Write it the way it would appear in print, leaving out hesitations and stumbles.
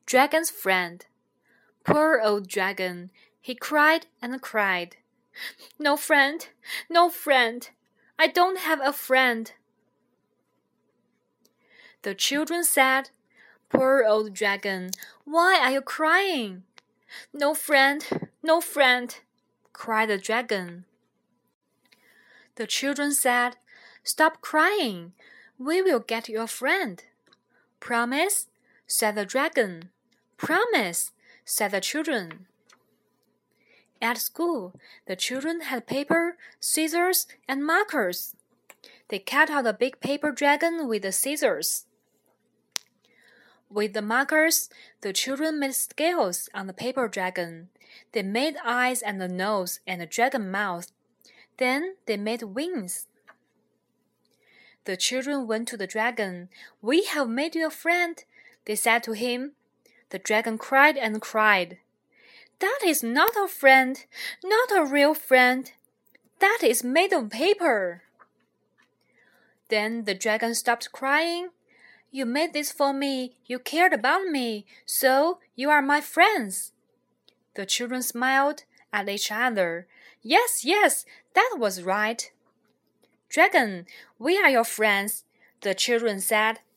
Dragon's friend. Poor old dragon, he cried and cried. No friend, no friend, I don't have a friend. The children said, Poor old dragon, why are you crying? No friend, no friend, cried the dragon. The children said, Stop crying, we will get you a friend. Promise, said the dragon. Promise, said the children. At school, the children had paper, scissors, and markers. They cut out a big paper dragon with the scissors. With the markers, the children made scales on the paper dragon. They made eyes and a nose and a dragon mouth. Then they made wings. The children went to the dragon. We have made you a friend, they said to him. The dragon cried and cried. That is not a friend, not a real friend. That is made of paper. Then the dragon stopped crying. You made this for me, you cared about me, so you are my friends. The children smiled at each other. Yes, yes, that was right. Dragon, we are your friends, the children said.